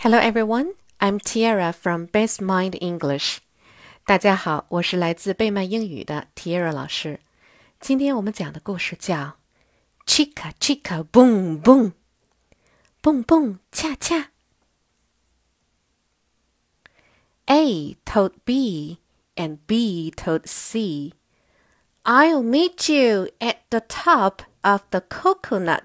Hello everyone, I'm Tiara from Best Mind English. 大家好，我是来自贝曼英语的 Tiara 老师。今天我们讲的故事叫 Chica Chica Boom Boom， 蹦蹦恰恰。A told B and B told C, I'll meet you at the top of the coconut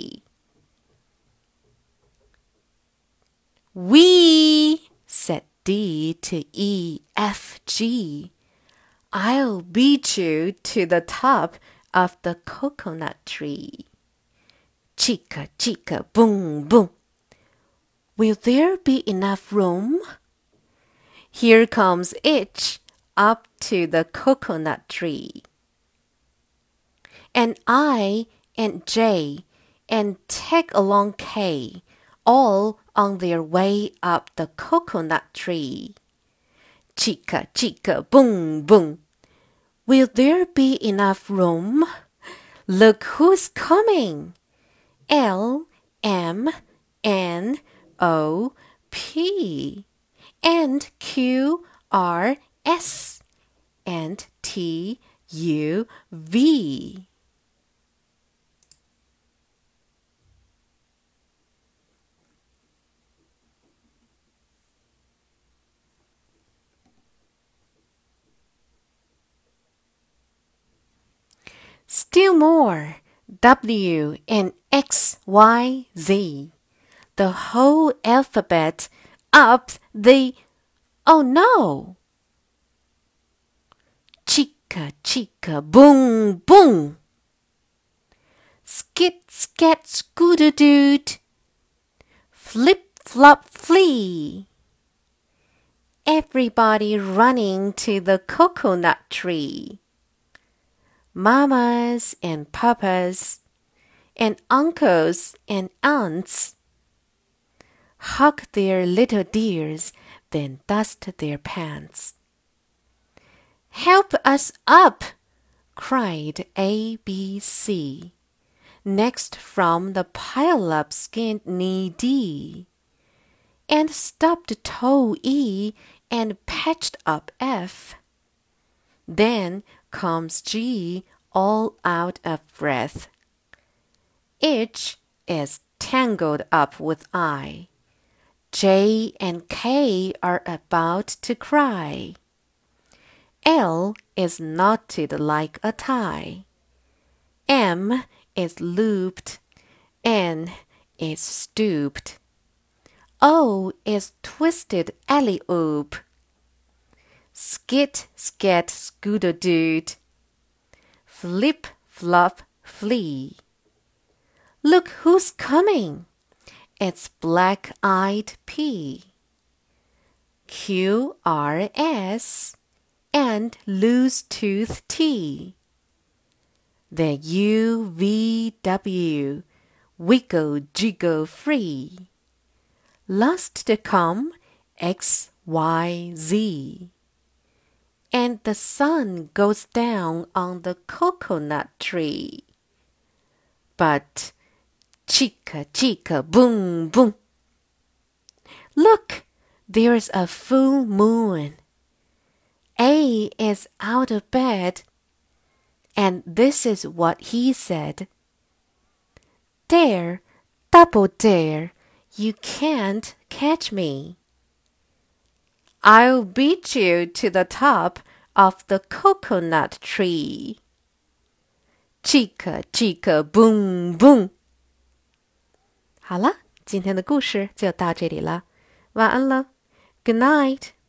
tree.We, said D to E, F, G. I'll beat you to the top of the coconut tree. Chica, chica, boom, boom. Will there be enough room? Here comes H up to the coconut tree. And I and J and tag along K.All on their way up the coconut tree. Chica, chica, boom, boom. Will there be enough room? Look who's coming. L, M, N, O, P. And Q, R, S. And T, U, V.Still more, W and X, Y, Z. The whole alphabet up the... Oh no! Chica, chica, boom, boom. Skit, scat, scooter-doot. Flip, flop, flee. Everybody running to the coconut tree.Mamas and papas and uncles and aunts hug their little dears, then dust their pants. Help us up, cried A, B, C. Next from the pile-up skinned knee D. And stubbed toe E and patched up F. Then comes G, all out of breath. H is tangled up with I. J and K are about to cry. L is knotted like a tie. M is looped. N is stooped. O is twisted alley-oop.Skit, scat, scooter-doot. Flip, flop, flee. Look who's coming. It's black-eyed P. Q, R, S. And loose-tooth T. The U, V, W. Wiggle, jiggle, free. Last to come, X, Y, Z.And the sun goes down on the coconut tree. But chica, chica, boom, boom. Look, there's a full moon. A is out of bed. And this is what he said. Dare, double dare, you can't catch me.I'll beat you to the top of the coconut tree. Chica, chica, boom, boom. 好了，今天的故事就到这里了。晚安了。Good night.